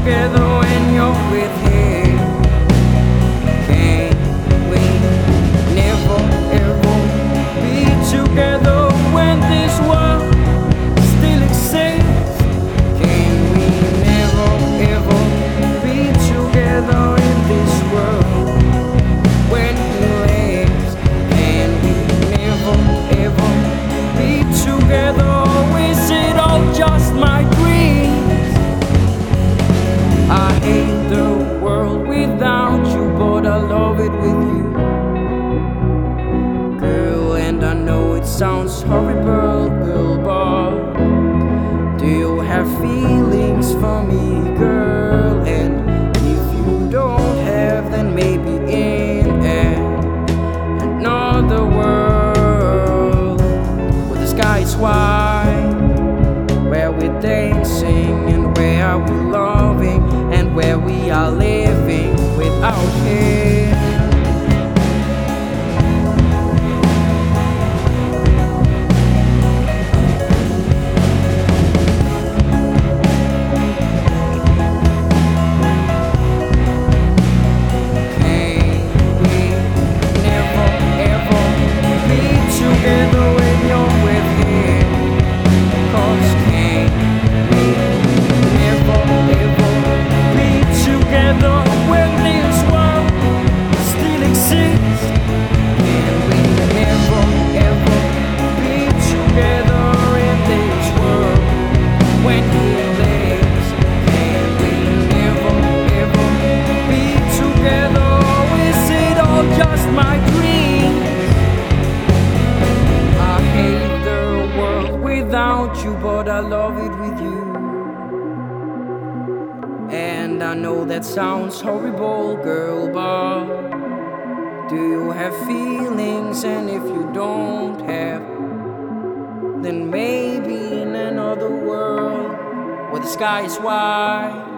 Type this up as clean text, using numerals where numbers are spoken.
together when you're with him? Can we never ever be together when this world still exists? Can we never ever be together in this world when he lives? Can we never ever be together? Or is it all just my dreams? I hate the world without you, but I love it with you, girl. And I know it sounds horrible, girl, but do you have feelings for me, girl? And if you don't have, then maybe in another world where the sky is white, where we're dancing and where we're loving and where we are living without him. You, but I love it with you. And I know that sounds horrible, girl, but do you have feelings? And if you don't have, then maybe in another world where the sky is white,